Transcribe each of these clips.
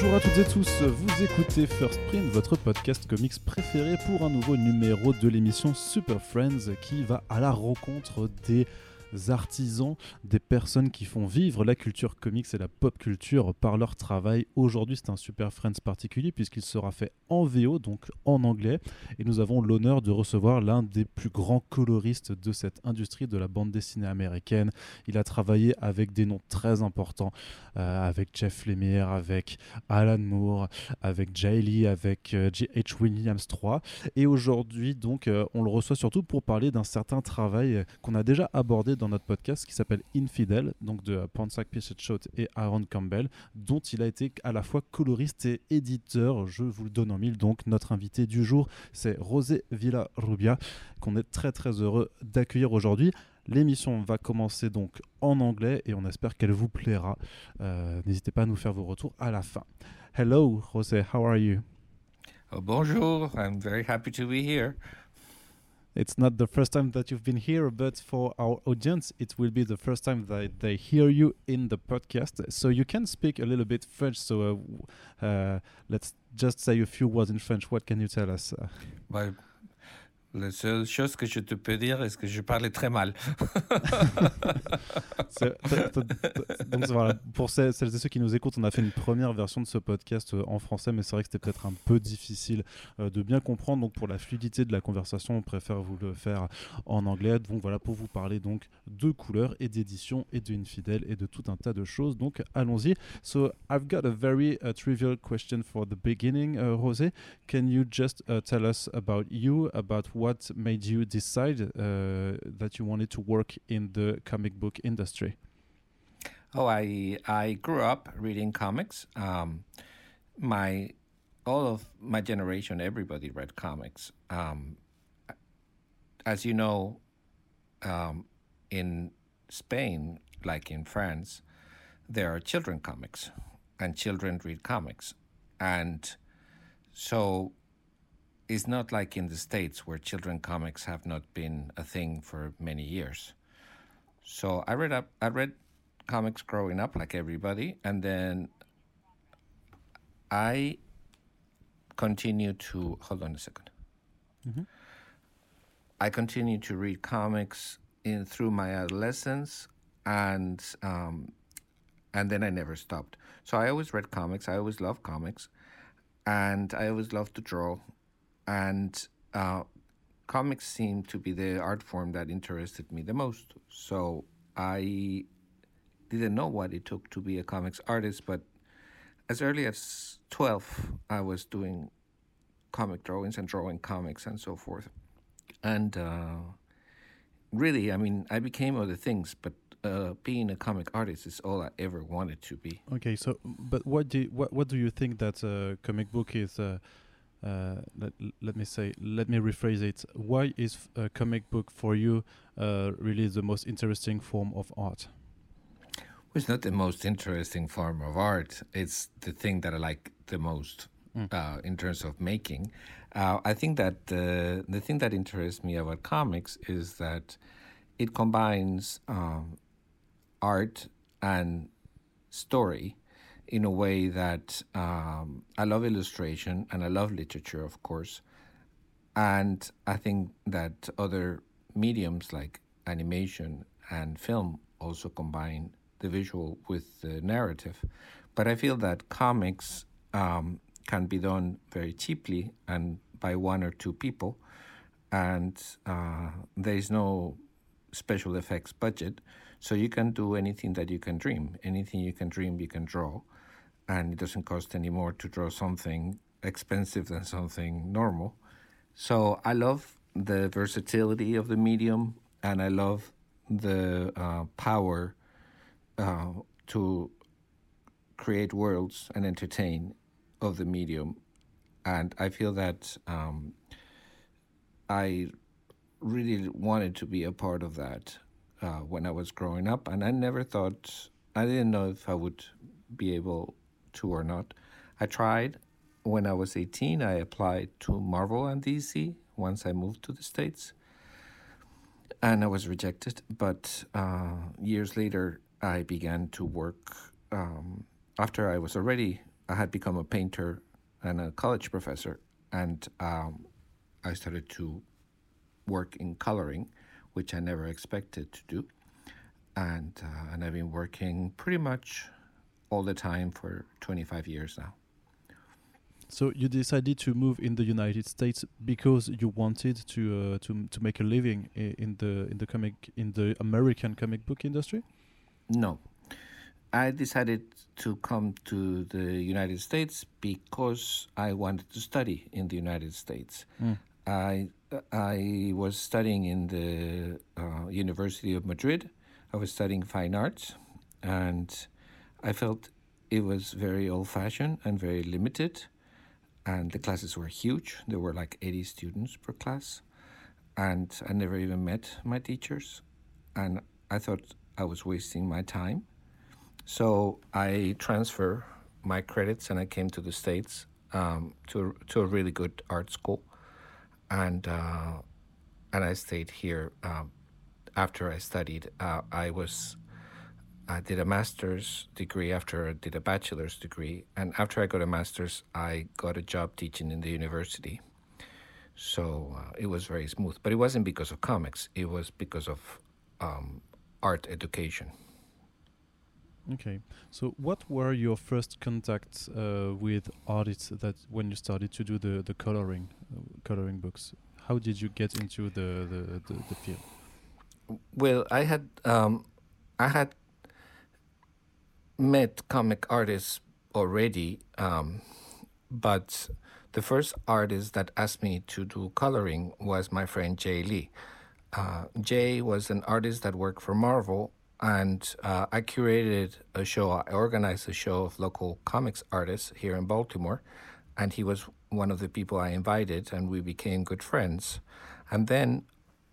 Bonjour à toutes et tous, vous écoutez First Print, votre podcast comics préféré pour un nouveau numéro de l'émission Super Friends qui va à la rencontre des artisans, des personnes qui font vivre la culture comics et la pop culture par leur travail. Aujourd'hui, c'est un Super Friends particulier puisqu'il sera fait en VO, donc en anglais, et nous avons l'honneur de recevoir l'un des plus grands coloristes de cette industrie de la bande dessinée américaine. Il a travaillé avec des noms très importants, avec Jeff Lemire, avec Alan Moore, avec Jay Lee, avec J.H. Williams III. Et aujourd'hui, donc, on le reçoit surtout pour parler d'un certain travail qu'on a déjà abordé dans notre podcast qui s'appelle Infidel, donc de Pansak Pitchett et Aaron Campbell, dont il a été à la fois coloriste et éditeur. Je vous le donne en mille. Donc, notre invité du jour, c'est José Villarrubia, qu'on est très très heureux d'accueillir aujourd'hui. L'émission va commencer donc en anglais et on espère qu'elle vous plaira. N'hésitez pas à nous faire vos retours à la fin. Hello, José, how are you? Oh, bonjour, I'm very happy to be here. It's not the first time that you've been here, but for our audience, it will be the first time that they hear you in the podcast. So you can speak a little bit French. So let's just say a few words in French. What can you tell us? Bah, la seule chose que je te peux dire est que je parlais très mal. Donc voilà, pour celles et ceux qui nous écoutent, on a fait une première version de ce podcast en français, mais c'est vrai que c'était peut-être un peu difficile de bien comprendre. Donc pour la fluidité de la conversation, on préfère vous le faire en anglais. Donc voilà, pour vous parler donc de couleurs et d'édition et de Infidel et de tout un tas de choses. Donc allons-y. So I've got a very trivial question for the beginning, José. Can you just tell us about you, about what made you decide that you wanted to work in the comic book industry? Oh, I grew up reading comics. All of my generation, everybody read comics. As you know, in Spain, like in France, there are children comics, and children read comics, and so it's not like in the States where children comics have not been a thing for many years. So I read comics growing up like everybody, and then I continued to hold on a second. Mm-hmm. I continued to read comics through my adolescence, and then I never stopped. So I always read comics. I always loved comics, and I always loved to draw. And comics seemed to be the art form that interested me the most. So I didn't know what it took to be a comics artist, but as early as 12, I was doing comic drawings and drawing comics and so forth. And really, I mean, I became other things, but being a comic artist is all I ever wanted to be. Okay, so but what do you think that comic book is? Let me rephrase it. Why is a comic book for you really the most interesting form of art? It's not the most interesting form of art. It's the thing that I like the most in terms of making. I think that the thing that interests me about comics is that it combines art and story in a way that I love illustration and I love literature, of course. And I think that other mediums like animation and film also combine the visual with the narrative. But I feel that comics can be done very cheaply and by one or two people. And there is no special effects budget. So you can do anything that you can dream. Anything you can dream, you can draw. And it doesn't cost any more to draw something expensive than something normal. So I love the versatility of the medium, and I love the power to create worlds and entertain of the medium. And I feel that I really wanted to be a part of that when I was growing up. And I didn't know if I would be able to or not. I tried. When I was 18, I applied to Marvel and DC once I moved to the States. And I was rejected. But years later, I began to work after I was already I had become a painter and a college professor, and I started to work in coloring, which I never expected to do. And I've been working pretty much all the time for 25 years now. So you decided to move in the United States because you wanted to make a living in the American comic book industry? No. I decided to come to the United States because I wanted to study in the United States. I was studying in the University of Madrid. I was studying fine arts, and I felt it was very old-fashioned and very limited, and the classes were huge. There were like 80 students per class, and I never even met my teachers, and I thought I was wasting my time. So I transferred my credits and I came to the States to a really good art school, and I stayed here. After I studied, I did a master's degree after I did a bachelor's degree, and after I got a master's, I got a job teaching in the university. So it was very smooth, but it wasn't because of comics. It was because of art education. Okay, so what were your first contacts with artists that when you started to do the coloring books? How did you get into the field? Well, I had met comic artists already, but the first artist that asked me to do coloring was my friend Jay Lee. Jay was an artist that worked for Marvel, and I curated a show. I organized a show of local comics artists here in Baltimore, and he was one of the people I invited, and we became good friends. And then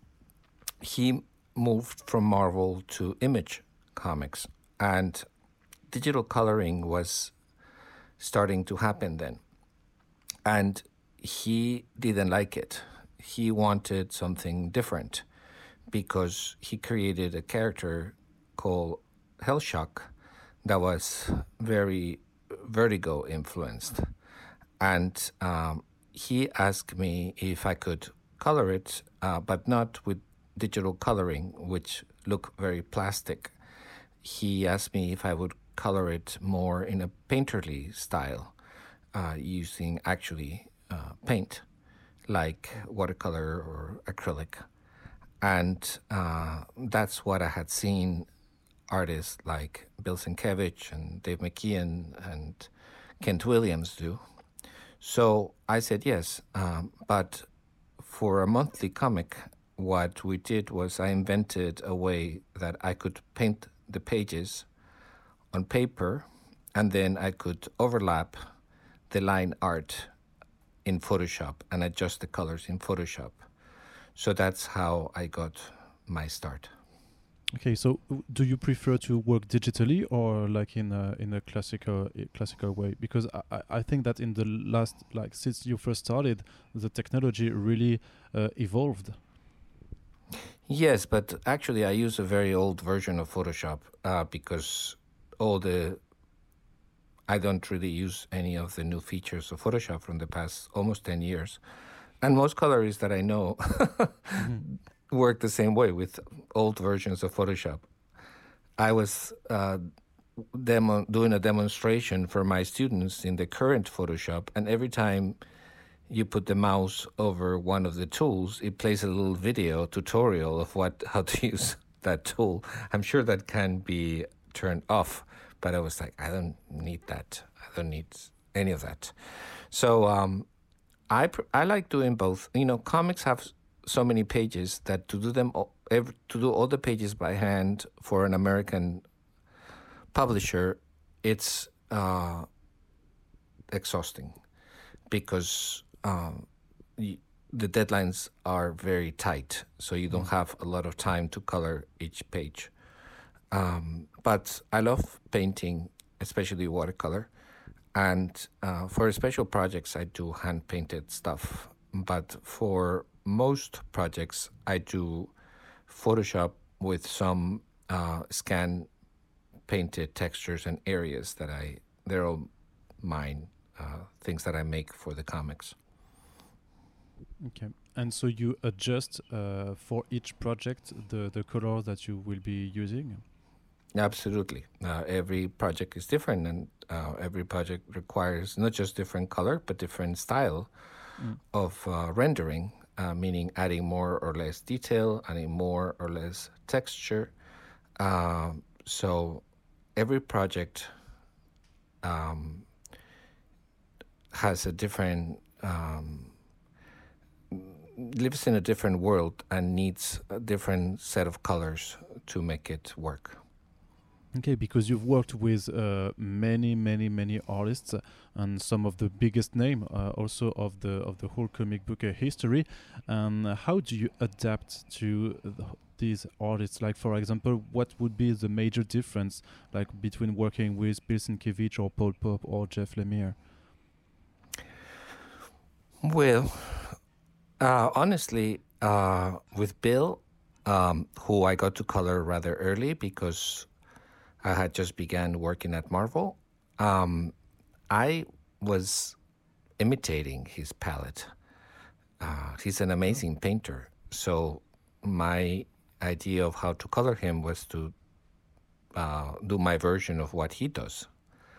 he moved from Marvel to Image Comics, and digital coloring was starting to happen then. And he didn't like it. He wanted something different because he created a character called Hellshock that was very Vertigo influenced. And he asked me if I could color it, but not with digital coloring, which looked very plastic. He asked me if I would color it more in a painterly style, using actually paint, like watercolor or acrylic. And that's what I had seen artists like Bill Sienkiewicz and Dave McKeon and Kent Williams do. So I said yes, but for a monthly comic, what we did was I invented a way that I could paint the pages on paper, and then I could overlap the line art in Photoshop and adjust the colors in Photoshop. So that's how I got my start. Okay, so do you prefer to work digitally or like in a classical way? Because I think that in the last, like since you first started, the technology really evolved. Yes, but actually I use a very old version of Photoshop because I don't really use any of the new features of Photoshop from the past almost 10 years. And most colorists that I know work the same way with old versions of Photoshop. I was doing a demonstration for my students in the current Photoshop, and every time you put the mouse over one of the tools, it plays a little video tutorial of how to use that tool. I'm sure that can be turned off, but I was like, I don't need that. I don't need any of that. So I like doing both. You know, comics have so many pages that to do all the pages by hand for an American publisher, it's exhausting because the deadlines are very tight, so you don't have a lot of time to color each page. But I love painting, especially watercolor. And for special projects, I do hand-painted stuff. But for most projects, I do Photoshop with some scan-painted textures and areas they're all mine, things that I make for the comics. Okay. And so you adjust for each project the color that you will be using? Absolutely. Every project is different, and every project requires not just different color, but different style of rendering, meaning adding more or less detail, adding more or less texture. So every project has a different, lives in a different world and needs a different set of colors to make it work. Okay, because you've worked with many artists and some of the biggest name also of the whole comic book history. How do you adapt to these artists? Like, for example, what would be the major difference, like between working with Bill Sienkiewicz or Paul Pope or Jeff Lemire? Well, honestly, with Bill, who I got to color rather early because I had just began working at Marvel, I was imitating his palette. He's an amazing painter. So my idea of how to color him was to do my version of what he does.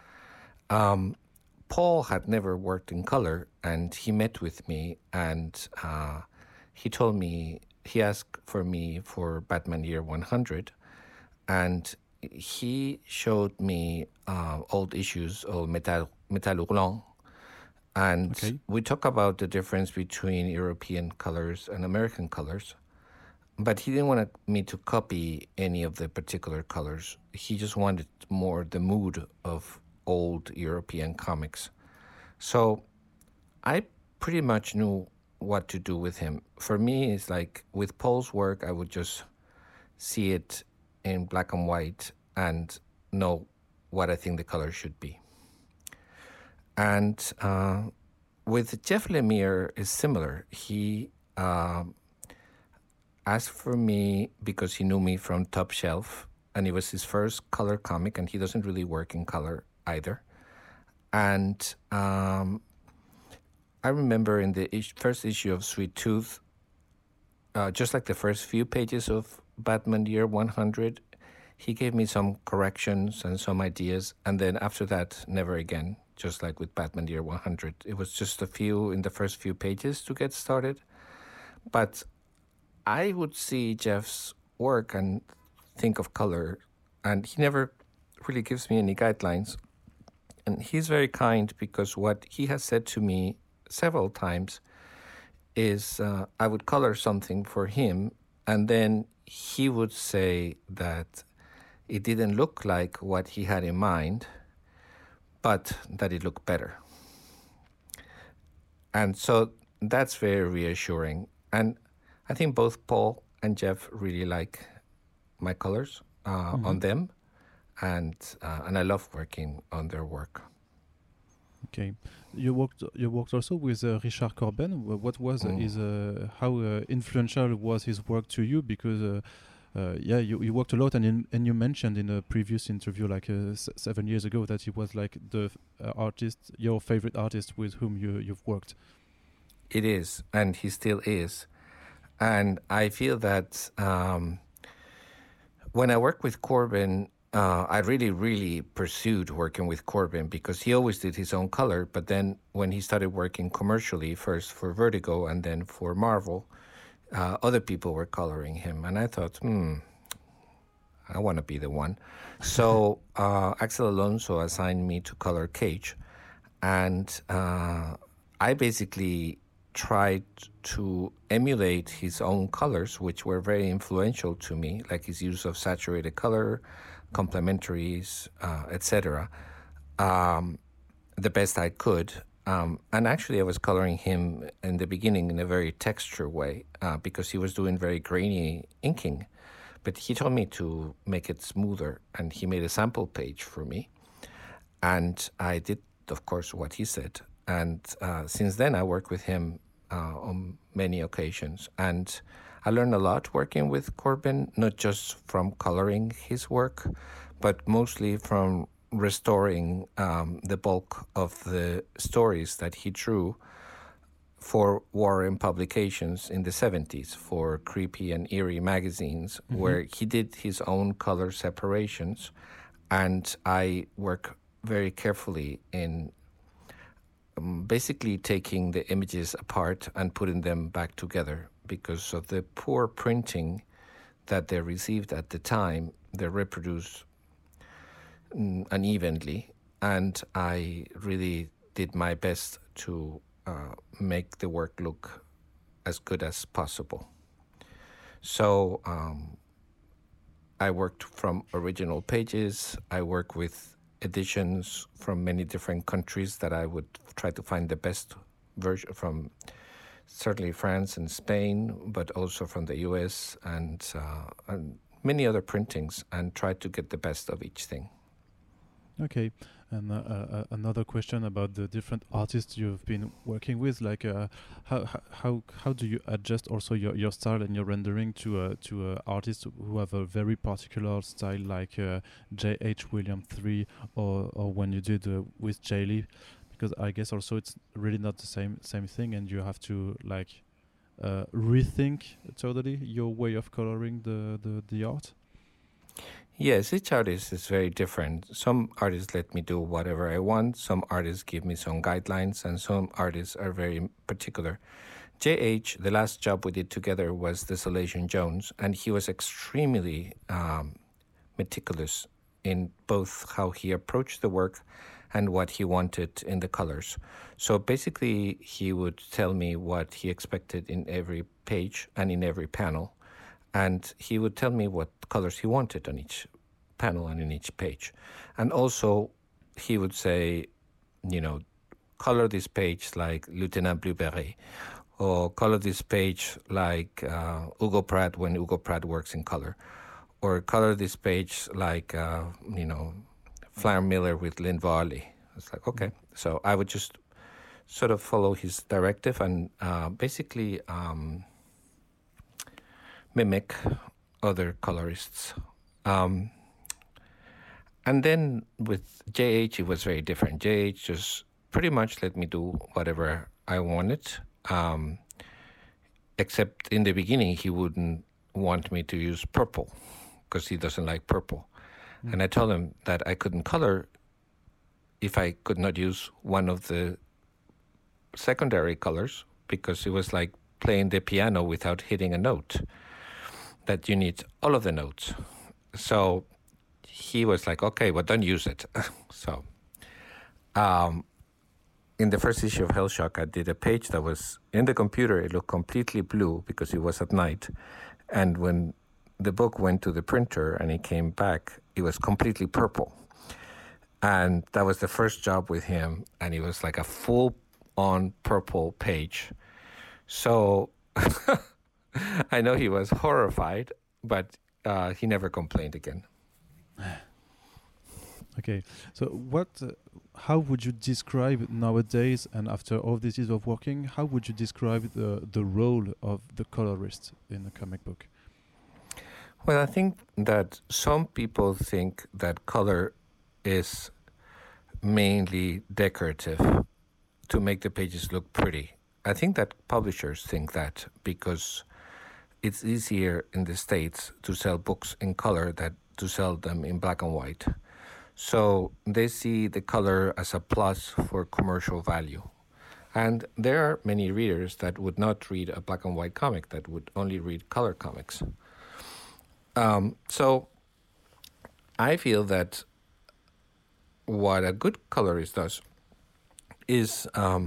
Paul had never worked in color, and he met with me, and he told me, he asked for me for Batman Year 100, and he showed me old issues of Metal Hurlant, and we talk about the difference between European colors and American colors, but he didn't want me to copy any of the particular colors. He just wanted more the mood of old European comics. So I pretty much knew what to do with him. For me, it's like with Paul's work, I would just see it in black and white and know what I think the color should be. And with Jeff Lemire, it's similar. He asked for me because he knew me from Top Shelf, and it was his first color comic, and he doesn't really work in color either. And I remember in the first issue of Sweet Tooth, just like the first few pages of Batman Year 100, he gave me some corrections and some ideas, and then after that, never again, just like with Batman Year 100. It was just a few in the first few pages to get started. But I would see Jeff's work and think of color, and he never really gives me any guidelines. And he's very kind, because what he has said to me several times is I would color something for him, and then he would say that it didn't look like what he had in mind, but that it looked better. And so that's very reassuring. And I think both Paul and Jeff really like my colors on them, and I love working on their work. Okay, you worked also with Richard Corben. What was his how influential was his work to you? Because you worked a lot, and you mentioned in a previous interview, like 7 years ago, that he was like the artist, your favorite artist with whom you've worked. It is, and he still is. And I feel that when I work with Corben, I really pursued working with Corben, because he always did his own color. But then when he started working commercially, first for Vertigo and then for Marvel, other people were coloring him. And I thought, I want to be the one. So Axel Alonso assigned me to color Cage. And I basically tried to emulate his own colors, which were very influential to me, like his use of saturated color, complementaries, etc., the best I could. And actually, I was coloring him in the beginning in a very texture way, because he was doing very grainy inking. But he told me to make it smoother, and he made a sample page for me. And I did, of course, what he said. And since then, I work with him on many occasions. And I learned a lot working with Corben, not just from coloring his work, but mostly from restoring the bulk of the stories that he drew for Warren Publications in the 70s for Creepy and Eerie magazines, where he did his own color separations. And I work very carefully in basically taking the images apart and putting them back together. Because of the poor printing that they received at the time, they reproduced unevenly. And I really did my best to make the work look as good as possible. So I worked from original pages. I work with editions from many different countries that I would try to find the best version from, certainly France and Spain, but also from the US and many other printings, and try to get the best of each thing. Okay, and another question about the different artists you've been working with, like how do you adjust also your style and your rendering to artists who have a very particular style, like J.H. Williams III, or when you did with J. Lee, because I guess also it's really not the same thing, and you have to like rethink totally your way of coloring the art. Yes, each artist is very different. Some artists let me do whatever I want. Some artists give me some guidelines, and some artists are very particular. J.H., the last job we did together was Desolation Jones, and he was extremely meticulous in both how he approached the work and what he wanted in the colors. So basically, he would tell me what he expected in every page and in every panel. And he would tell me what colors he wanted on each panel and in each page. And also, he would say, color this page like Lieutenant Blueberry, or color this page like Hugo Pratt when Hugo Pratt works in color, or color this page like, Flower Miller with Lynn Varley. It's like, okay. So I would just sort of follow his directive and basically mimic other colorists. And then with J.H., it was very different. J.H. just pretty much let me do whatever I wanted, except in the beginning, he wouldn't want me to use purple because he doesn't like purple. And I told him that I couldn't color if I could not use one of the secondary colors, because it was like playing the piano without hitting a note, that you need all of the notes. So he was like, okay, well, don't use it. So in the first issue of Hellshock, I did a page that was in the computer. It looked completely blue because it was at night. And when the book went to the printer and it came back, it was completely purple. And that was the first job with him. And it was like a full-on purple page. So I know he was horrified, but he never complained again. Okay, so how would you describe nowadays, and after all these years of working, how would you describe the role of the colorist in a comic book? Well, I think that some people think that color is mainly decorative to make the pages look pretty. I think that publishers think that because it's easier in the States to sell books in color than to sell them in black and white. So they see the color as a plus for commercial value. And there are many readers that would not read a black and white comic, that would only read color comics. So I feel that what a good colorist does is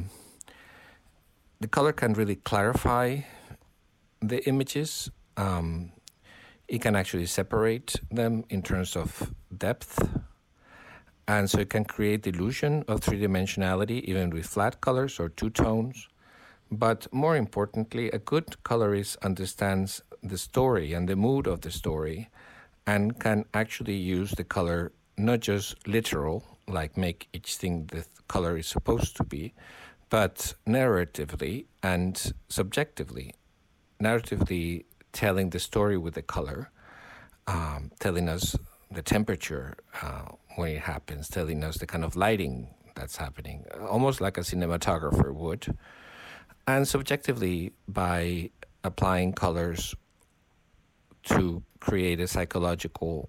the color can really clarify the images. It can actually separate them in terms of depth. And so it can create the illusion of three-dimensionality, even with flat colors or two tones. But more importantly, a good colorist understands the story and the mood of the story and can actually use the color not just literal, like make each thing the color is supposed to be, but narratively and subjectively. Narratively telling the story with the color, telling us the temperature when it happens, telling us the kind of lighting that's happening, almost like a cinematographer would. And subjectively, by applying colors to create a psychological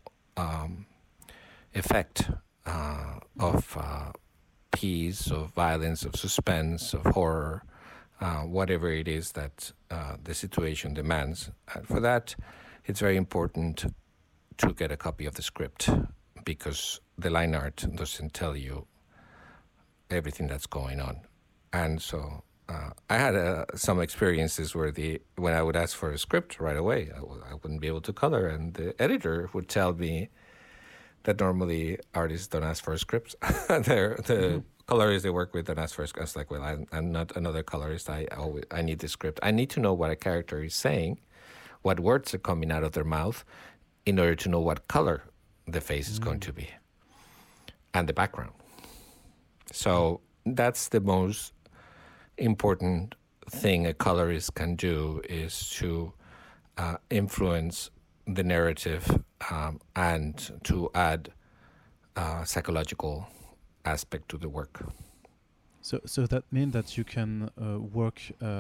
effect of peace, of violence, of suspense, of horror, whatever it is that the situation demands. And for that, it's very important to get a copy of the script, because the line art doesn't tell you everything that's going on. And so I had some experiences where when I would ask for a script right away, I wouldn't be able to color, and the editor would tell me that normally artists don't ask for scripts. The colorists they work with don't ask for scripts. Like, well, I'm not another colorist. I need the script. I need to know what a character is saying, what words are coming out of their mouth, in order to know what color the face is going to be, and the background. So that's the most important thing a colorist can do, is to influence the narrative and to add psychological aspect to the work. So that means that you can work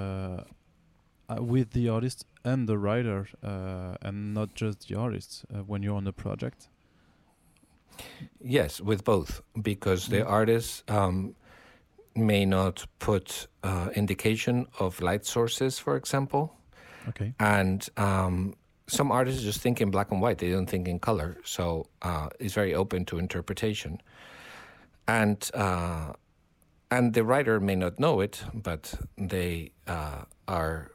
with the artist and the writer, and not just the artist when you're on a project? Yes, with both, because the artist may not put indication of light sources, for example. Okay. And some artists just think in black and white. They don't think in color. So it's very open to interpretation. And the writer may not know it, but they are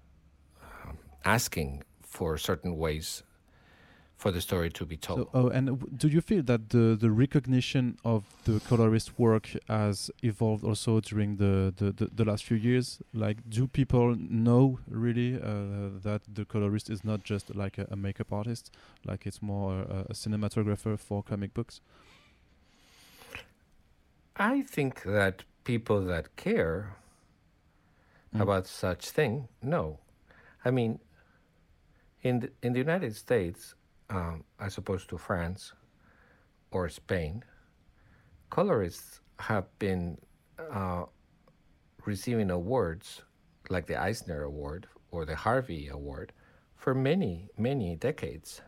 asking for certain ways for the story to be told. And do you feel that the recognition of the colorist work has evolved also during the last few years? Like, do people know really that the colorist is not just like a makeup artist, like it's more a cinematographer for comic books? I think that people that care about such thing know. I mean, in the United States, as opposed to France or Spain, colorists have been receiving awards like the Eisner Award or the Harvey Award for many, many decades,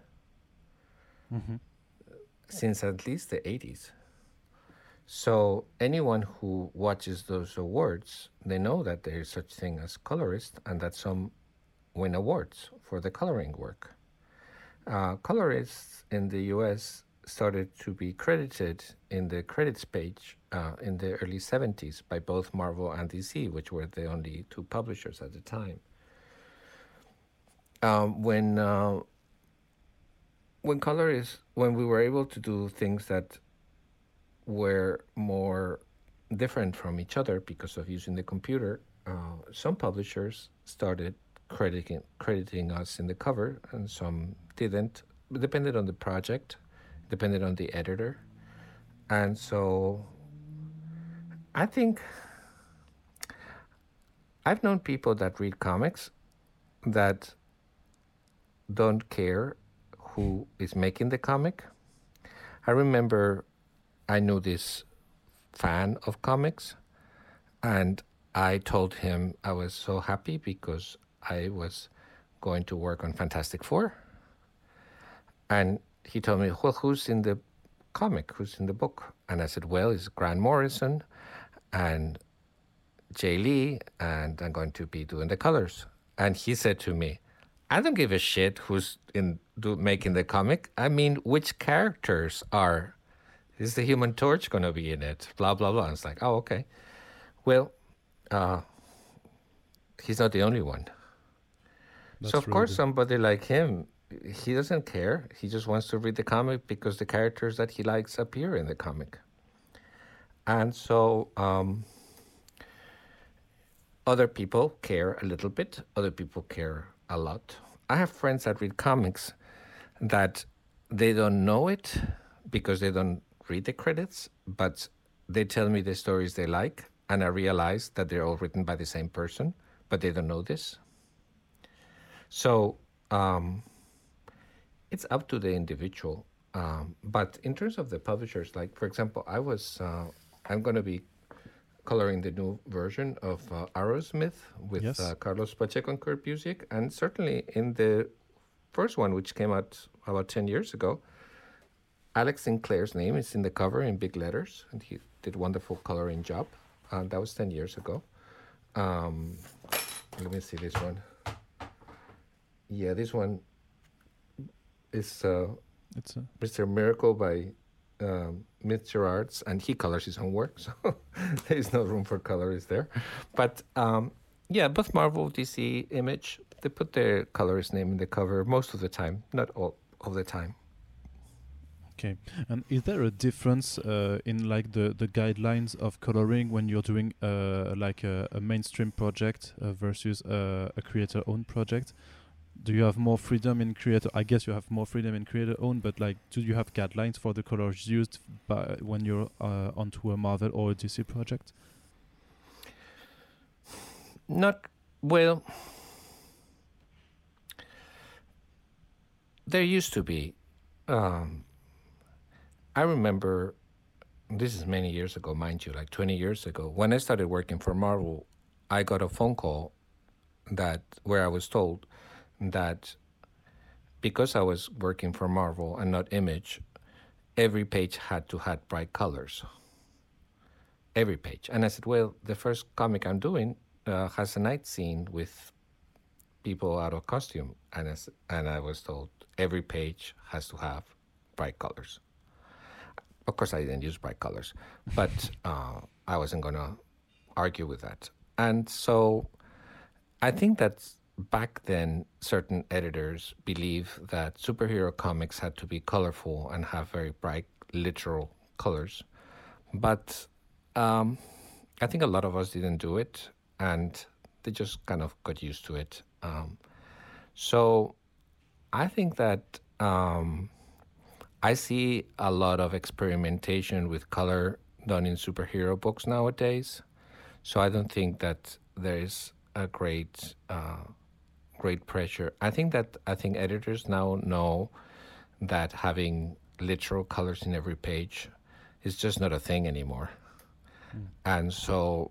since at least the 80s. So anyone who watches those awards, they know that there is such thing as colorist, and that some win awards for the coloring work. Colorists in the US started to be credited in the credits page in the early 70s by both Marvel and DC, which were the only two publishers at the time. When we were able to do things that were more different from each other because of using the computer, some publishers started crediting us in the cover, and some didn't. It depended on the project, depended on the editor. And so I think I've known people that read comics that don't care who is making the comic. I remember I knew this fan of comics, and I told him I was so happy because I was going to work on Fantastic Four. And he told me, well, who's in the comic? Who's in the book? And I said, well, it's Grant Morrison and Jay Lee, and I'm going to be doing the colors. And he said to me, I don't give a shit who's making the comic. I mean, which characters are? Is the Human Torch going to be in it? Blah, blah, blah. And it's like, oh, okay. Well, he's not the only one. So, of course, somebody like him, he doesn't care. He just wants to read the comic because the characters that he likes appear in the comic. And so other people care a little bit. Other people care a lot. I have friends that read comics that they don't know it because they don't read the credits, but they tell me the stories they like, and I realize that they're all written by the same person, but they don't know this. So it's up to the individual But in terms of the publishers, like for example, I'm going to be coloring the new version of Aerosmith with Yes. Carlos Pacheco and Kurt Busiek, and certainly in the first one, which came out about 10 years ago, Alex Sinclair's name is in the cover in big letters, and he did a wonderful coloring job. That was 10 years ago. Let me see this one. Yeah, this one is It's a Mr. Miracle by Mitch Gerards, and he colors his own work, so there is no room for colorists there. But yeah, both Marvel, DC, Image, they put their colorist name in the cover most of the time, not all of the time. Okay, and is there a difference in like the guidelines of coloring when you're doing like a mainstream project versus a creator-owned project? Do you have more freedom in creator? I guess you have more freedom in creator-owned, but like, do you have guidelines for the colors used by when you're onto a Marvel or a DC project? Not well. There used to be. I remember, this is many years ago, mind you, like 20 years ago, when I started working for Marvel, I got a phone call where I was told that because I was working for Marvel and not Image, every page had to have bright colors. Every page. And I said, well, the first comic I'm doing has a night scene with people out of costume. And I was told every page has to have bright colors. Of course, I didn't use bright colors, but I wasn't going to argue with that. And so I think that back then, certain editors believed that superhero comics had to be colorful and have very bright, literal colors. But I think a lot of us didn't do it, and they just kind of got used to it. So I think that I see a lot of experimentation with color done in superhero books nowadays. So I don't think that there is a great pressure. I think editors now know that having literal colors in every page is just not a thing anymore. And so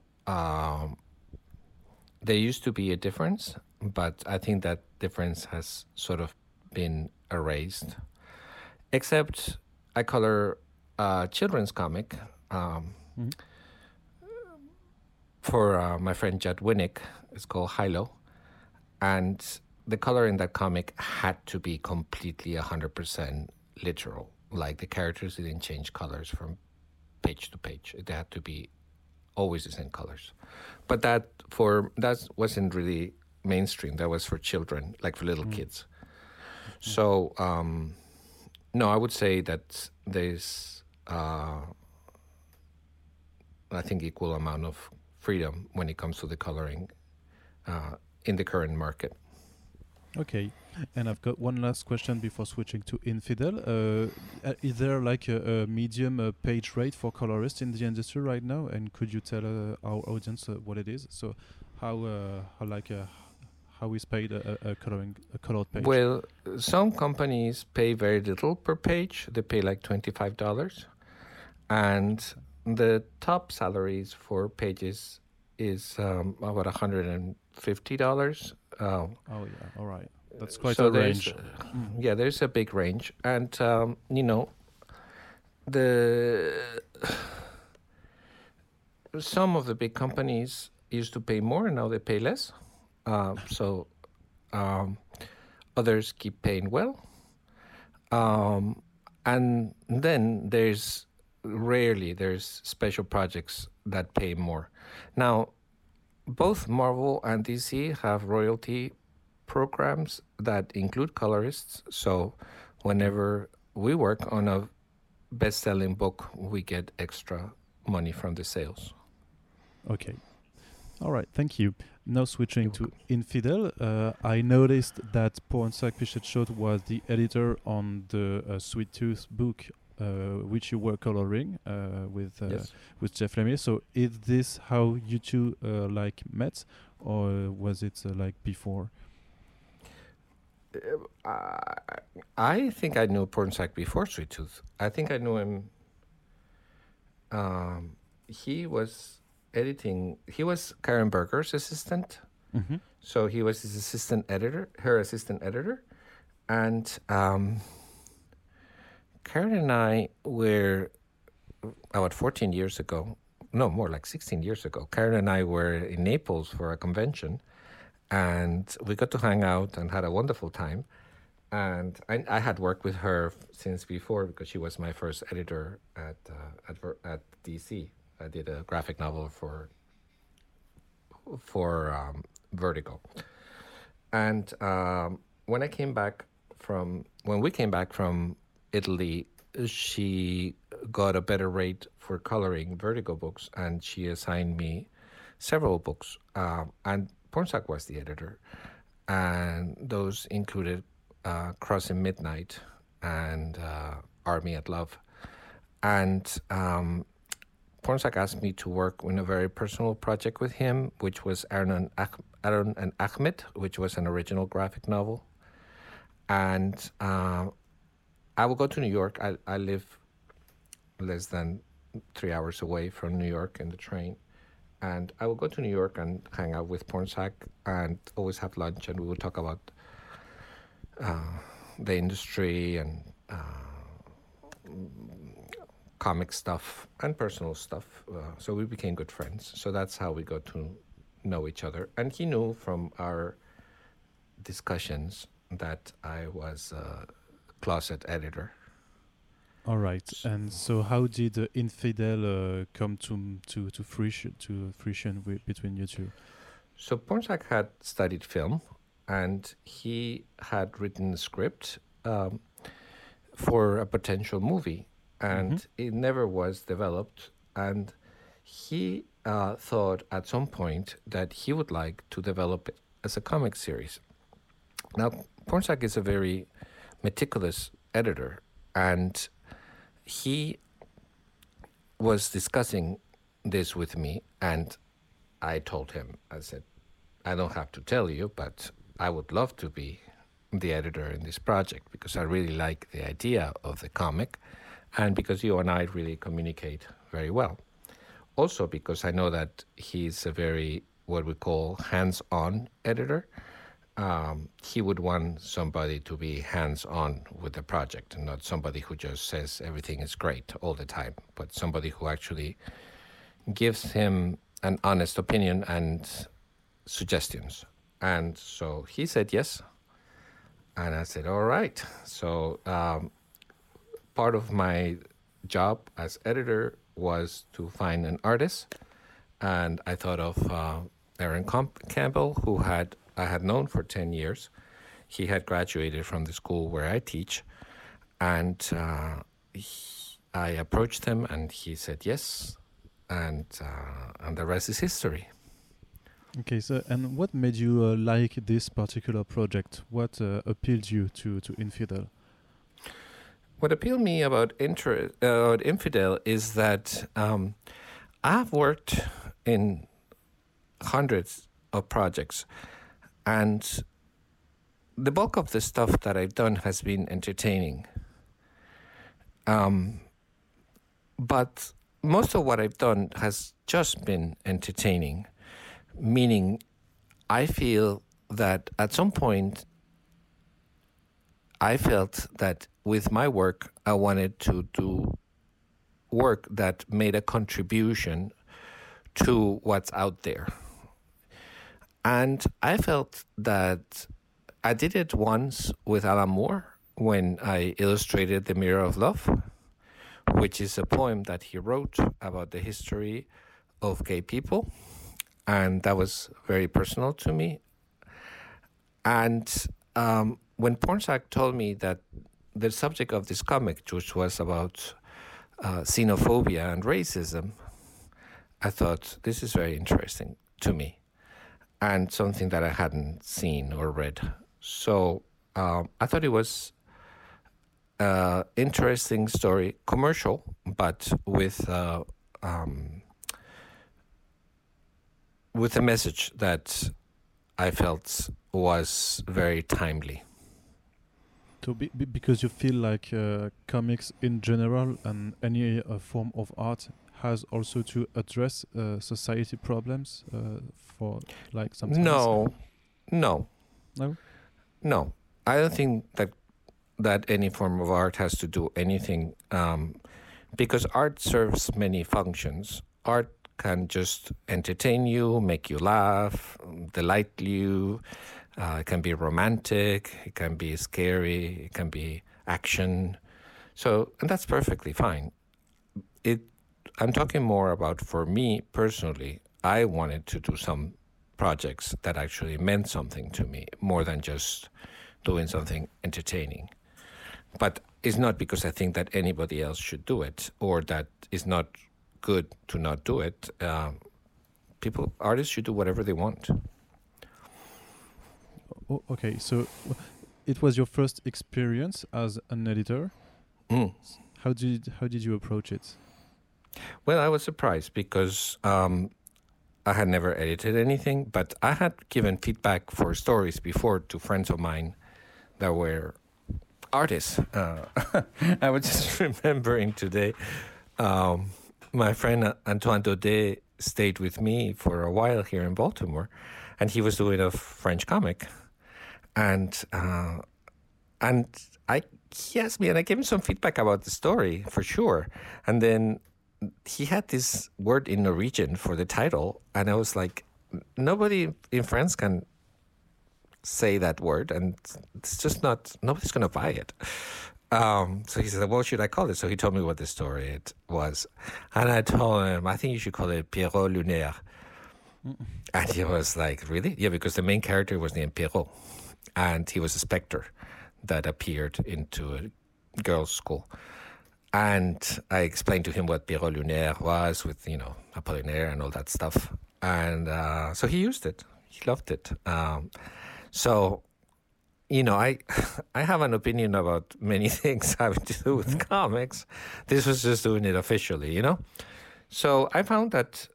there used to be a difference, but I think that difference has sort of been erased. Except I color a children's comic for my friend Judd Winnick. It's called Hilo. And the color in that comic had to be completely 100% literal. Like the characters didn't change colors from page to page. They had to be always the same colors. But that wasn't really mainstream. That was for children, like for little kids. So no, I would say that there's I think equal amount of freedom when it comes to the coloring in the current market. Okay, and I've got one last question before switching to Infidel. Is there like a medium page rate for colorists in the industry right now? And could you tell our audience what it is? So how is paid a colored page? Well, some companies pay very little per page. They pay like $25, and the top salaries for pages is about $150. Oh yeah, all right. That's quite a range. Yeah, there's a big range, and some of the big companies used to pay more, and now they pay less. So others keep paying well, and then there's special projects that pay more. Now, both Marvel and DC have royalty programs that include colorists. So whenever we work on a best-selling book, we get extra money from the sales. Okay. All right, thank you. Now switching to Infidel, I noticed that Pornsak Pichetshote was the editor on the Sweet Tooth book, which you were coloring with Jeff Lemire. So is this how you two met, or was it like before? I think I knew Pornsak before Sweet Tooth. I think I knew him. He was editing. He was Karen Berger's assistant. Mm-hmm. So he was his assistant editor, her assistant editor. And Karen and I were about 14 years ago, no, more like 16 years ago. Karen and I were in Naples for a convention, and we got to hang out and had a wonderful time. And I had worked with her since before because she was my first editor at DC. I did a graphic novel for Vertigo. And when we came back from Italy, she got a better rate for coloring Vertigo books, and she assigned me several books. And Pornsak was the editor, and those included Crossing Midnight and Army at Love. And Pornsak asked me to work in a very personal project with him, which was Aaron and Ahmed, which was an original graphic novel. And I will go to New York. I live less than 3 hours away from New York in the train. And I will go to New York and hang out with Pornsak and always have lunch, and we will talk about the industry and comic stuff and personal stuff. So we became good friends. So that's how we got to know each other. And he knew from our discussions that I was a closet editor. All right. And so how did Infidel come to fruition between you two? So Pornsak had studied film, and he had written a script for a potential movie, and it never was developed. And he thought at some point that he would like to develop it as a comic series. Now, Pornsak is a very meticulous editor, and he was discussing this with me, and I told him, I said, I don't have to tell you, but I would love to be the editor in this project because I really like the idea of the comic, and because you and I really communicate very well. Also because I know that he's a very, what we call, hands-on editor. He would want somebody to be hands-on with the project and not somebody who just says everything is great all the time, but somebody who actually gives him an honest opinion and suggestions. And so he said yes, and I said, all right. So part of my job as editor was to find an artist, and I thought of Aaron Campbell, who I had known for 10 years. He had graduated from the school where I teach, and I approached him, and he said yes, and the rest is history. Okay, so and what made you like this particular project? What appealed you to Infidel? What appealed me about Infidel is that I've worked in hundreds of projects, and the bulk of the stuff that I've done has been entertaining. But most of what I've done has just been entertaining, meaning I feel that at some point I felt that with my work, I wanted to do work that made a contribution to what's out there. And I felt that I did it once with Alan Moore when I illustrated The Mirror of Love, which is a poem that he wrote about the history of gay people. And that was very personal to me. And when Pornsak told me that the subject of this comic, which was about xenophobia and racism, I thought, this is very interesting to me and something that I hadn't seen or read. So I thought it was an interesting story, commercial, but with a message that I felt was very timely. So because you feel like comics in general and any form of art has also to address society problems for like sometimes. No, no, No. no. I don't think that any form of art has to do anything, because art serves many functions. Art can just entertain you, make you laugh, delight you. It can be romantic, it can be scary, it can be action. So, and that's perfectly fine. I'm talking more about, for me personally, I wanted to do some projects that actually meant something to me, more than just doing something entertaining. But it's not because I think that anybody else should do it, or that it's not good to not do it. Artists should do whatever they want. Okay, so it was your first experience as an editor. How did you approach it? Well, I was surprised because I had never edited anything, but I had given feedback for stories before to friends of mine that were artists. I was just remembering today, my friend Antoine Daudet stayed with me for a while here in Baltimore, and he was doing a French comic. And he asked me, and I gave him some feedback about the story, for sure. And then he had this word in Norwegian for the title, and I was like, nobody in France can say that word, and it's just nobody's going to buy it. So he said, what should I call it? So he told me what the story it was. And I told him, I think you should call it Pierrot Lunaire. And he was like, really? Yeah, because the main character was named Pierrot. And he was a specter that appeared into a girls' school. And I explained to him what Pierrot Lunaire was with, Apollinaire and all that stuff. And so he used it. He loved it. So, I have an opinion about many things having to do with comics. This was just doing it officially, So I found that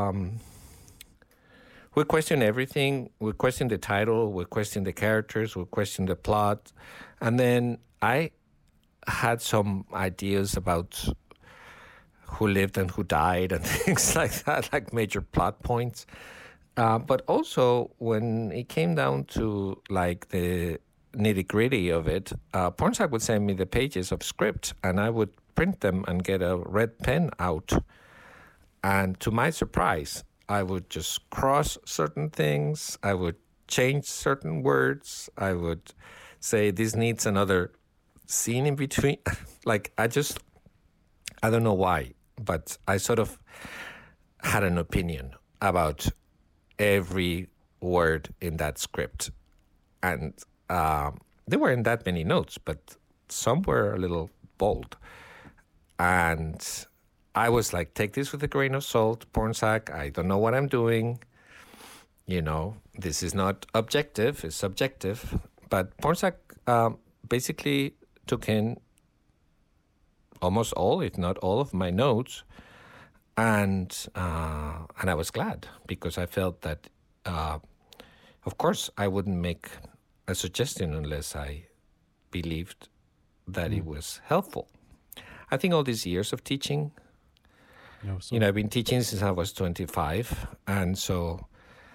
we question everything. We question the title. We question the characters. We question the plot. And then I had some ideas about who lived and who died and things like that, like major plot points. But also, when it came down to like the nitty-gritty of it, Pornsak would send me the pages of script, and I would print them and get a red pen out. And to my surprise, I would just cross certain things. I would change certain words. I would say this needs another scene in between. I don't know why, but I sort of had an opinion about every word in that script. And there weren't that many notes, but some were a little bold. And I was like, take this with a grain of salt, Pornsak. I don't know what I'm doing. This is not objective, it's subjective. But Pornsak basically took in almost all, if not all, of my notes. And I was glad, because I felt that, of course, I wouldn't make a suggestion unless I believed that it was helpful. I think all these years of teaching, I've been teaching since I was 25. And so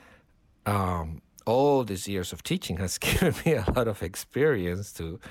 all these years of teaching has given me a lot of experience to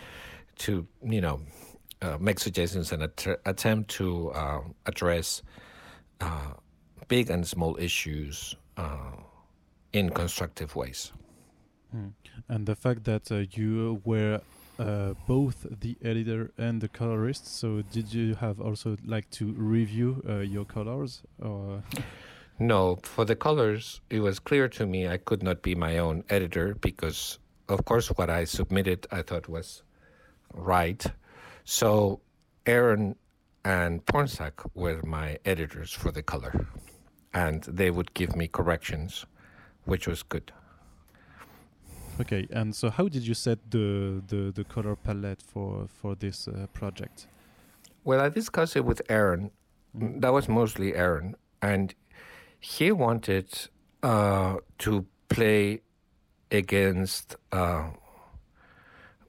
make suggestions and attempt to address big and small issues in constructive ways. And the fact that you were both the editor and the colorist, so did you have also to review your colors? Or No, for the colors, it was clear to me I could not be my own editor because, of course, what I submitted I thought was right. So Aaron and Pornsak were my editors for the color, and they would give me corrections, which was good. Okay, and so how did you set the color palette for this project? Well, I discussed it with Aaron. That was mostly Aaron, and he wanted to play against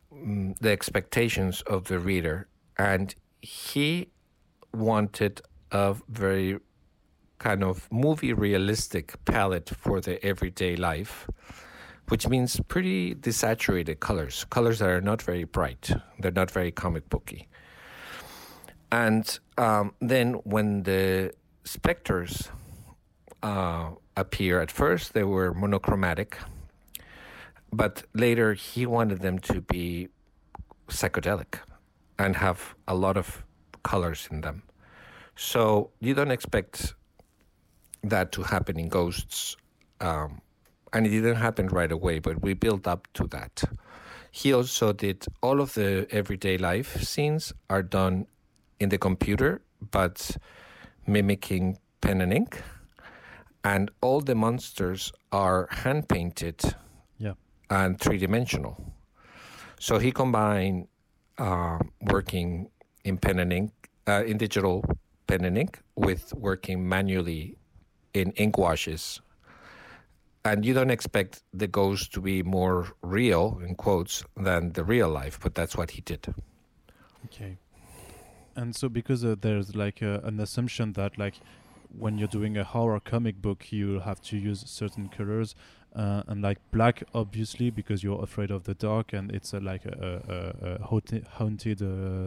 the expectations of the reader, and he wanted a very kind of movie realistic palette for the everyday life, which means pretty desaturated colors that are not very bright. They're not very comic booky. And then when the specters appear, at first they were monochromatic, but later he wanted them to be psychedelic and have a lot of colors in them. So you don't expect that to happen in Ghosts, and it didn't happen right away, but we built up to that. He also did all of the everyday life scenes are done in the computer, but mimicking pen and ink, and all the monsters are hand painted and three-dimensional. So he combined working in pen and ink, in digital pen and ink, with working manually in ink washes. And you don't expect the ghost to be more real, in quotes, than the real life, but that's what he did. Okay. And so because there's like an assumption that like when you're doing a horror comic book, you have to use certain colors, and like black, obviously, because you're afraid of the dark, and it's like a haunted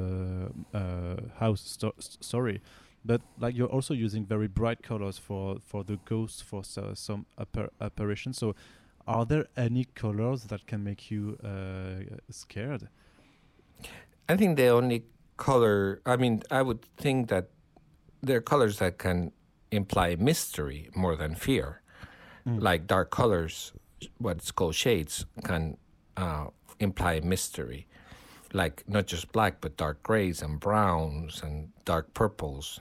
house story. But like you're also using very bright colors for the ghosts, for some apparitions. So are there any colors that can make you scared? I think the only color, I would think that there are colors that can imply mystery more than fear. Like dark colors, what's called shades, can imply mystery. Like not just black, but dark grays and browns and dark purples.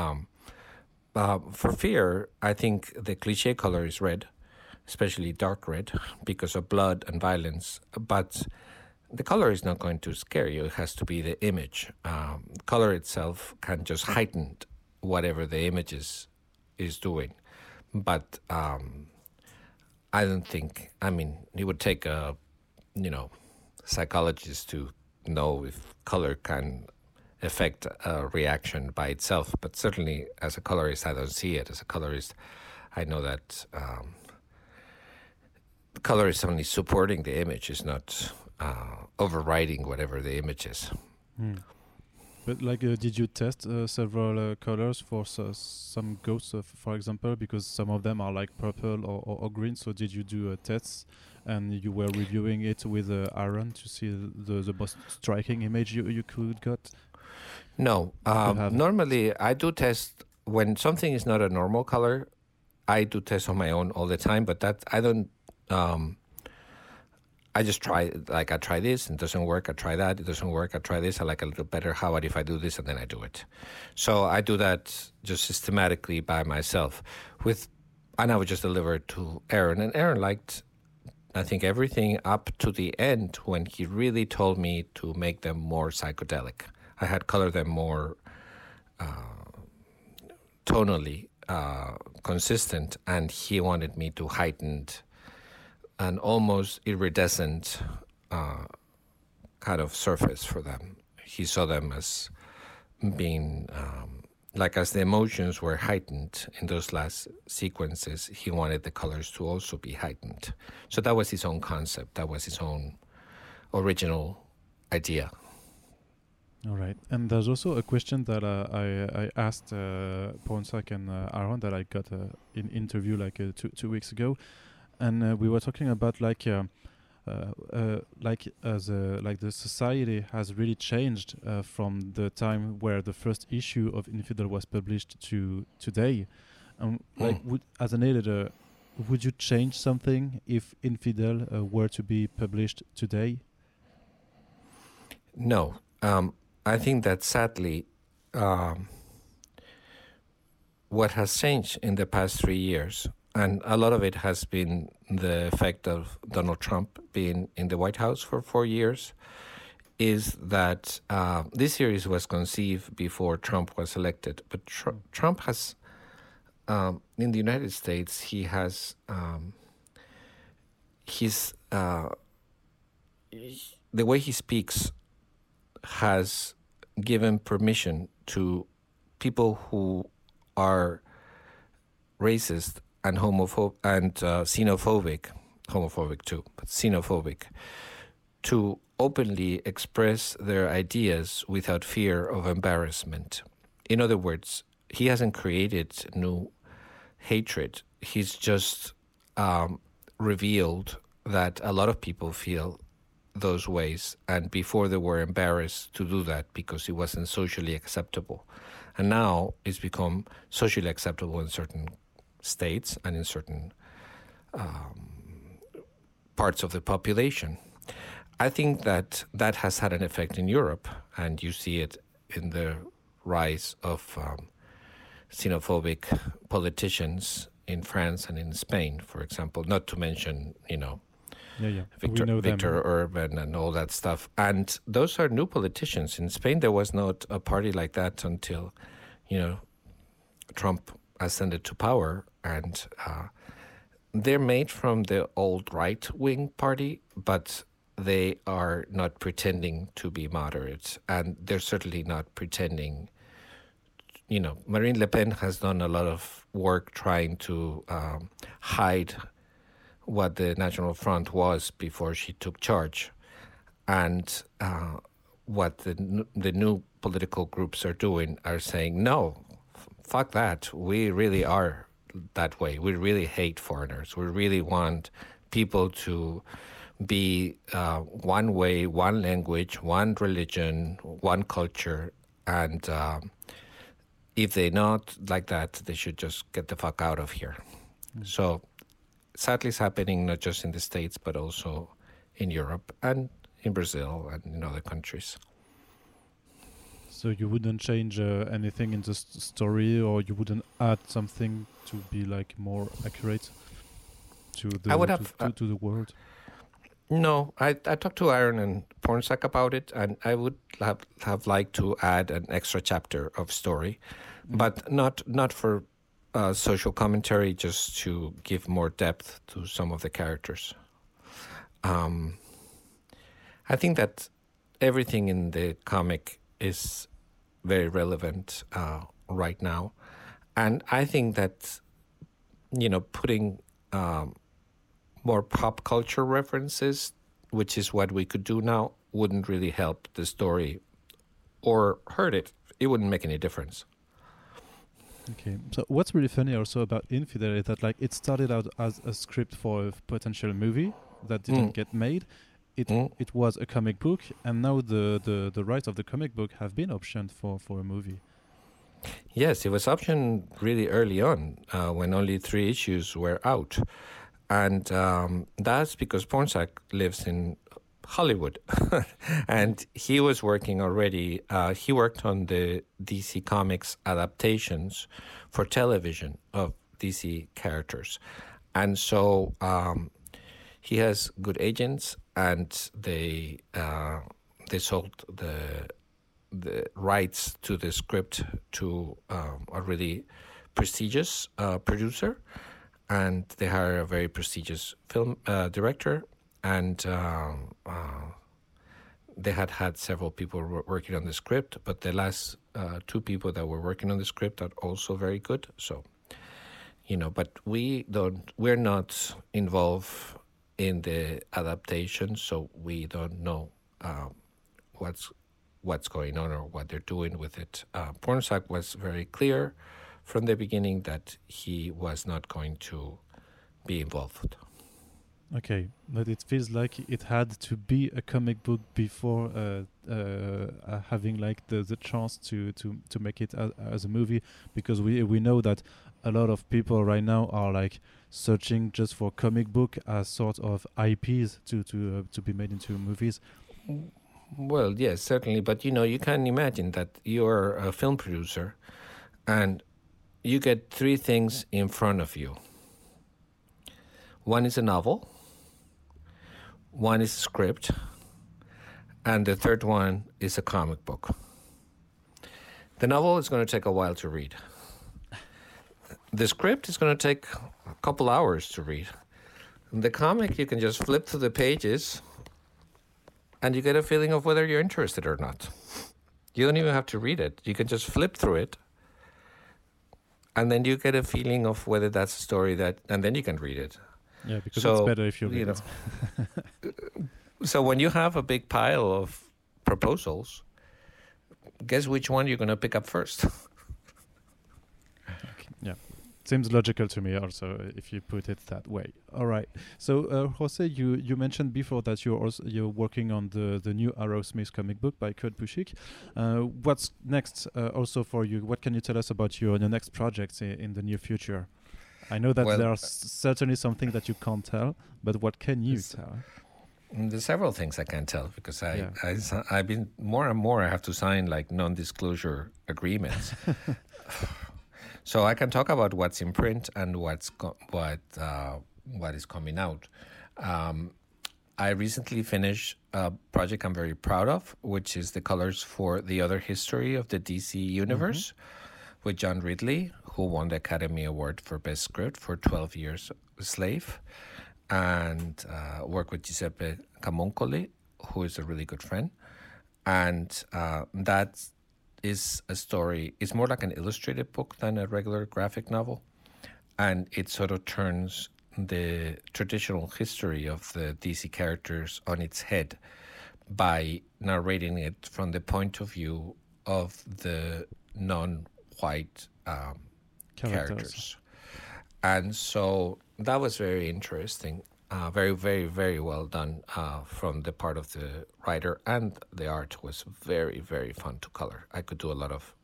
For fear, I think the cliche color is red, especially dark red, because of blood and violence. But the color is not going to scare you. It has to be the image. Color itself can just heighten whatever the image is doing. But I don't think, it would take a, psychologist to know if color can affect a reaction by itself. But certainly as a colorist, I don't see it. As a colorist, I know that the color is only supporting the image, is not overriding whatever the image is. But like, did you test several colors for some ghosts, for example? Because some of them are like purple or green. So did you do tests, and you were reviewing it with Aaron to see the most striking image you could get? No. Normally, I do test when something is not a normal color. I do test on my own all the time, but that I don't. I just try, like I try this and it doesn't work, I try that, it doesn't work, I try this, I like a little better, how about if I do this, and then I do it. So I do that just systematically by myself. And I would just deliver it to Aaron, and Aaron liked, I think, everything up to the end when he really told me to make them more psychedelic. I had colored them more tonally consistent, and he wanted me to heighten an almost iridescent kind of surface for them. He saw them as being, as the emotions were heightened in those last sequences, he wanted the colors to also be heightened. So that was his own concept. That was his own original idea. All right. And there's also a question that I asked Pornsak and Aaron that I got in interview 2 weeks ago. And we were talking about the society has really changed from the time where the first issue of Infidel was published to today. As an editor, would you change something if Infidel were to be published today? No. I think that sadly, what has changed in the past 3 years, and a lot of it has been the effect of Donald Trump being in the White House for 4 years, is that this series was conceived before Trump was elected. But Trump has, in the United States, he has the way he speaks has given permission to people who are racist and homophobic and homophobic too, but xenophobic, to openly express their ideas without fear of embarrassment. In other words, he hasn't created new hatred. He's just revealed that a lot of people feel those ways, and before they were embarrassed to do that because it wasn't socially acceptable. And now it's become socially acceptable in certain states and in certain parts of the population. I think that has had an effect in Europe, and you see it in the rise of xenophobic politicians in France and in Spain, for example, not to mention, Victor Orban and all that stuff. And those are new politicians. In Spain, there was not a party like that until, Trump ascended to power. And they're made from the old right-wing party, but they are not pretending to be moderate. And they're certainly not pretending. Marine Le Pen has done a lot of work trying to hide what the National Front was before she took charge, and what the new political groups are doing are saying, no, fuck that. We really are that way. We really hate foreigners. We really want people to be one way, one language, one religion, one culture, and if they're not like that, they should just get the fuck out of here. So sadly, it's happening not just in the States, but also in Europe and in Brazil and in other countries. So you wouldn't change anything in the story, or you wouldn't add something to be more accurate to the to the world? No, I talked to Aaron and Pornsak about it, and I would have liked to add an extra chapter of story, but not for social commentary, just to give more depth to some of the characters. I think that everything in the comic is very relevant right now, and I think that putting more pop culture references, which is what we could do now, wouldn't really help the story or hurt it. It wouldn't make any difference. Okay, so what's really funny also about Infidel is that it started out as a script for a potential movie that didn't get made. It was a comic book, and now the rights of the comic book have been optioned for a movie. Yes, it was optioned really early on, when only 3 issues were out. And that's because Pornsak lives in Hollywood. And he was working already. He worked on the DC Comics adaptations for television of DC characters. And so he has good agents, and they sold the rights to the script to a really prestigious producer. And they hired a very prestigious film director, and they had several people working on the script, but the last 2 people that were working on the script are also very good. So, but we're not involved in the adaptation, so we don't know what's going on or what they're doing with it. Pornsak was very clear from the beginning that he was not going to be involved. Okay, but it feels like it had to be a comic book before having the chance to make it as a movie, because we know that a lot of people right now are searching just for comic book as sort of IPs to be made into movies. Well, yes, certainly, but you can imagine that you're a film producer and you get 3 things in front of you. One is a novel, one is a script, and the third one is a comic book. The novel is going to take a while to read. The script is going to take a couple hours to read. The comic, you can just flip through the pages and you get a feeling of whether you're interested or not. You don't even have to read it. You can just flip through it, and then you get a feeling of whether that's a story and then you can read it. Yeah, because it's better if you read it. So when you have a big pile of proposals, guess which one you're going to pick up first? Okay. Yeah. Seems logical to me also if you put it that way. All right. So Jose, you mentioned before that you're working on the new Arrowsmith comic book by Kurt Busiek. What's next also for you? What can you tell us about your next projects in the near future? I know that there are certainly something that you can't tell, but what can you tell? There's several things I can't tell because I've been more and more I have to sign like non-disclosure agreements. So I can talk about what's in print and what is coming out. I recently finished a project I'm very proud of, which is the colors for The Other History of the DC Universe with John Ridley, who won the Academy Award for Best Script for 12 Years a Slave, and work with Giuseppe Camuncoli, who is a really good friend. And that is a story. It's more like an illustrated book than a regular graphic novel. And it sort of turns the traditional history of the DC characters on its head by narrating it from the point of view of the non-white characters. And so that was very interesting. Very, very, very well done from the part of the writer, and the art was very, very fun to color. I could do a lot of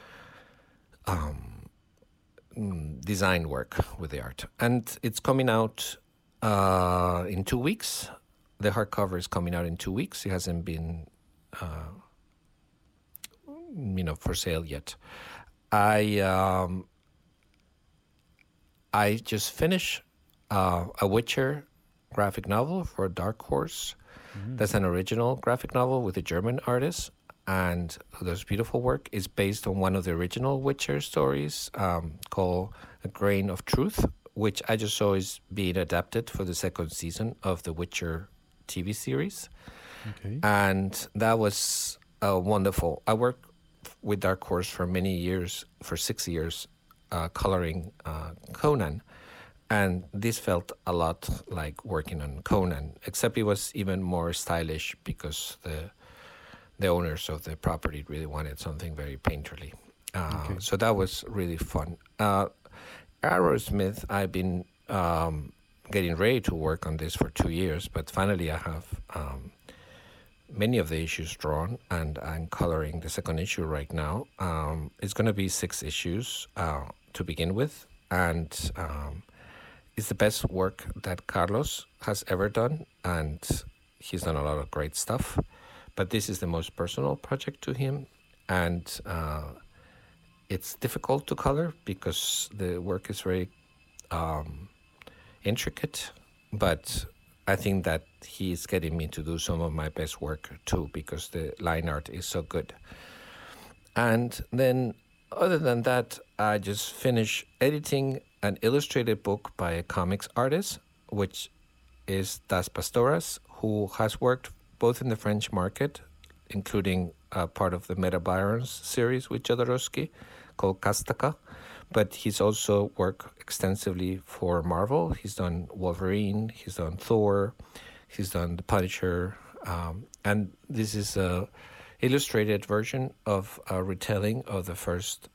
design work with the art. And it's coming out in 2 weeks. The hardcover is coming out in 2 weeks. It hasn't been for sale yet. I just finished a Witcher graphic novel for Dark Horse. That's an original graphic novel with a German artist, and there's beautiful work. It's based on one of the original Witcher stories called A Grain of Truth, which I just saw is being adapted for the second season of the Witcher TV series. Okay. And that was wonderful. I worked with Dark Horse for many years, for 6 years, coloring Conan. And this felt a lot like working on Conan, except it was even more stylish because the owners of the property really wanted something very painterly. So that was really fun. Arrowsmith, I've been getting ready to work on this for 2 years, but finally I have many of the issues drawn, and I'm coloring the second issue right now. It's going to be 6 issues to begin with, and it's the best work that Carlos has ever done, and he's done a lot of great stuff. But this is the most personal project to him, and it's difficult to color because the work is very intricate. But I think that he's getting me to do some of my best work too, because the line art is so good. And then, other than that, I just finished editing an illustrated book by a comics artist, which is Das Pastoras, who has worked both in the French market, including part of the Meta Barons series with Jodorowsky called Kastaka, but he's also worked extensively for Marvel. He's done Wolverine, he's done Thor, he's done The Punisher, and this is a illustrated version of a retelling of the first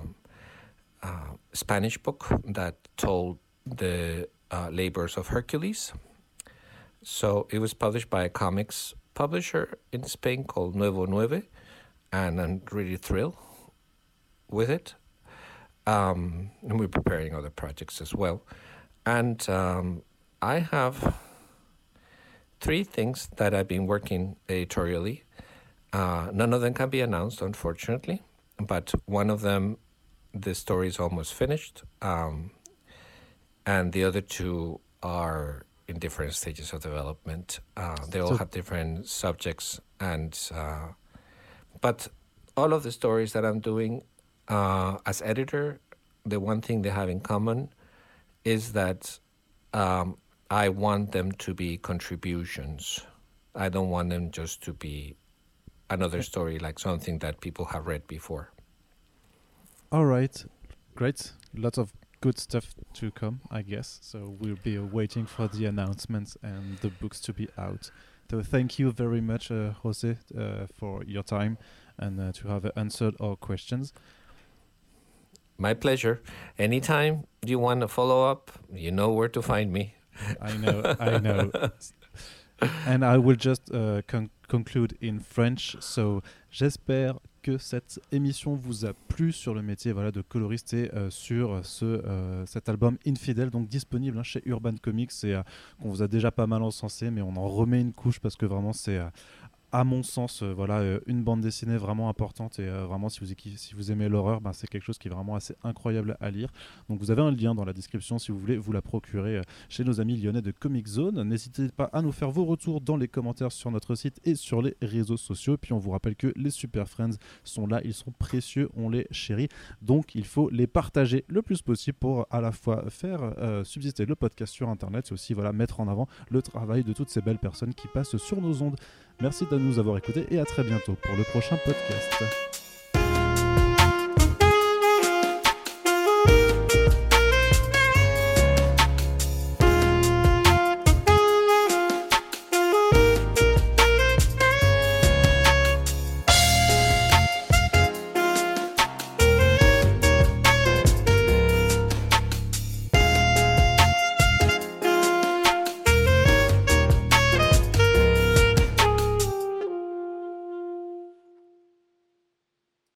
Spanish book that told the labors of Hercules. So it was published by a comics publisher in Spain called Nuevo Nueve, and I'm really thrilled with it. And we're preparing other projects as well. And I have 3 things that I've been working editorially. None of them can be announced, unfortunately, but one of them, the story is almost finished, and the other 2 are in different stages of development. They all have different subjects, and but all of the stories that I'm doing as editor, the one thing they have in common is that I want them to be contributions I don't want them just to be another story, like something that people have read before. All right, great. Lots of good stuff to come, I guess. So we'll be waiting for the announcements and the books to be out. So thank you very much, Jose, for your time and to have answered our questions. My pleasure. Anytime you want to follow up, you know where to find me. I know. And I will just conclude in French. So, j'espère que cette émission vous a plu sur le métier de coloriste et sur cet album Infidèle, donc disponible chez Urban Comics et qu'on vous a déjà pas mal encensé, mais on en remet une couche parce que vraiment c'est à mon sens, une bande dessinée vraiment importante et vraiment si vous aimez l'horreur, c'est quelque chose qui est vraiment assez incroyable à lire. Donc vous avez un lien dans la description si vous voulez vous la procurer chez nos amis lyonnais de Comic Zone. N'hésitez pas à nous faire vos retours dans les commentaires sur notre site et sur les réseaux sociaux. Puis on vous rappelle que les Super Friends sont là, ils sont précieux, on les chérit. Donc il faut les partager le plus possible pour à la fois faire subsister le podcast sur Internet et aussi mettre en avant le travail de toutes ces belles personnes qui passent sur nos ondes. Merci de nous avoir écoutés et à très bientôt pour le prochain podcast.